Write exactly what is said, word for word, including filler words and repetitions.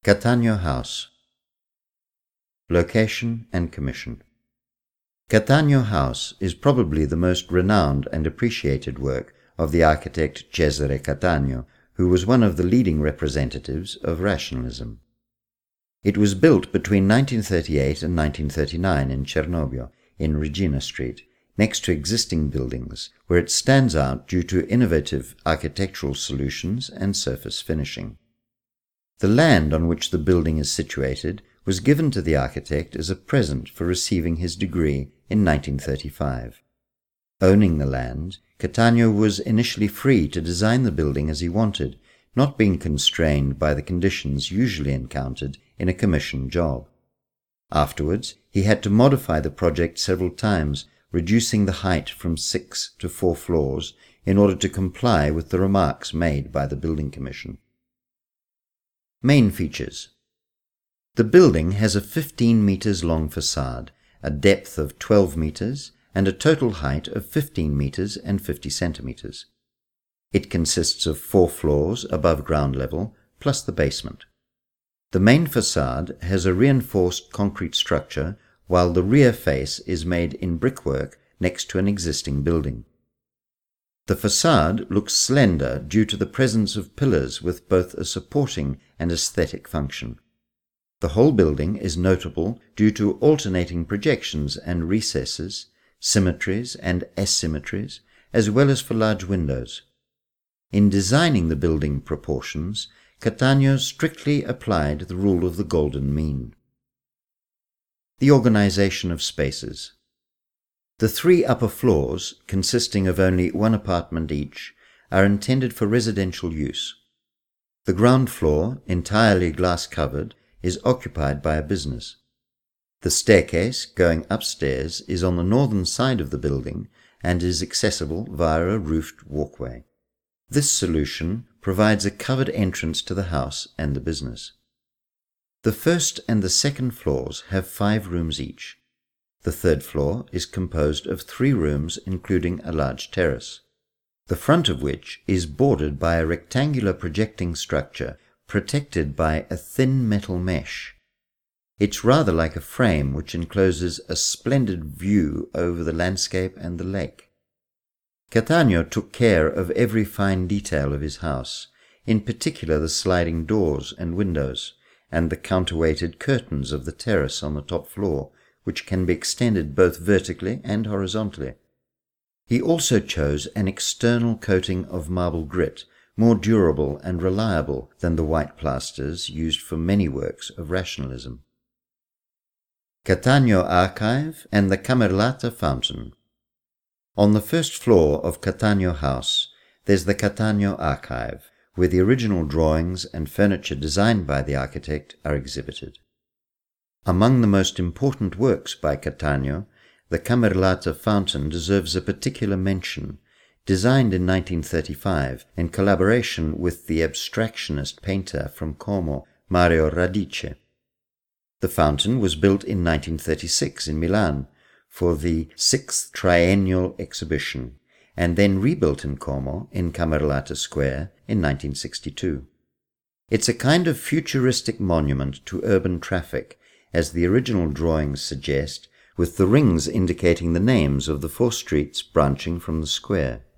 Cattaneo House. Location and commission. Cattaneo House is probably the most renowned and appreciated work of the architect Cesare Cattaneo, who was one of the leading representatives of rationalism. It was built between nineteen thirty-eight and nineteen thirty-nine in Cernobbio, in Regina Street, next to existing buildings, where it stands out due to innovative architectural solutions and surface finishing. The land on which the building is situated was given to the architect as a present for receiving his degree in nineteen thirty-five. Owning the land, Cattaneo was initially free to design the building as he wanted, not being constrained by the conditions usually encountered in a commissioned job. Afterwards, he had to modify the project several times, reducing the height from six to four floors in order to comply with the remarks made by the building commission. Main features. The building has a fifteen meters long facade, a depth of twelve meters, and a total height of fifteen meters and fifty centimeters. It consists of four floors above ground level, plus the basement. The main facade has a reinforced concrete structure, while the rear face is made in brickwork next to an existing building. The facade looks slender due to the presence of pillars with both a supporting and aesthetic function. The whole building is notable due to alternating projections and recesses, symmetries and asymmetries, as well as for large windows. In designing the building proportions, Cattaneo strictly applied the rule of the golden mean. The organization of spaces. The three upper floors, consisting of only one apartment each, are intended for residential use. The ground floor, entirely glass-covered, is occupied by a business. The staircase going upstairs is on the northern side of the building and is accessible via a roofed walkway. This solution provides a covered entrance to the house and the business. The first and the second floors have five rooms each. The third floor is composed of three rooms including a large terrace, the front of which is bordered by a rectangular projecting structure protected by a thin metal mesh. It's rather like a frame which encloses a splendid view over the landscape and the lake. Cattaneo took care of every fine detail of his house, in particular the sliding doors and windows, and the counterweighted curtains of the terrace on the top floor, which can be extended both vertically and horizontally. He also chose an external coating of marble grit, more durable and reliable than the white plasters used for many works of rationalism. Cattaneo Archive and the Camerlata Fountain. On the first floor of Cattaneo House, there's the Cattaneo Archive, where the original drawings and furniture designed by the architect are exhibited. Among the most important works by Cattaneo, the Camerlata Fountain deserves a particular mention, designed in nineteen thirty-five in collaboration with the abstractionist painter from Como, Mario Radice. The fountain was built in nineteen thirty-six in Milan for the sixth Triennial Exhibition, and then rebuilt in Como in Camerlata Square in nineteen sixty-two. It's a kind of futuristic monument to urban traffic, as the original drawings suggest, with the rings indicating the names of the four streets branching from the square.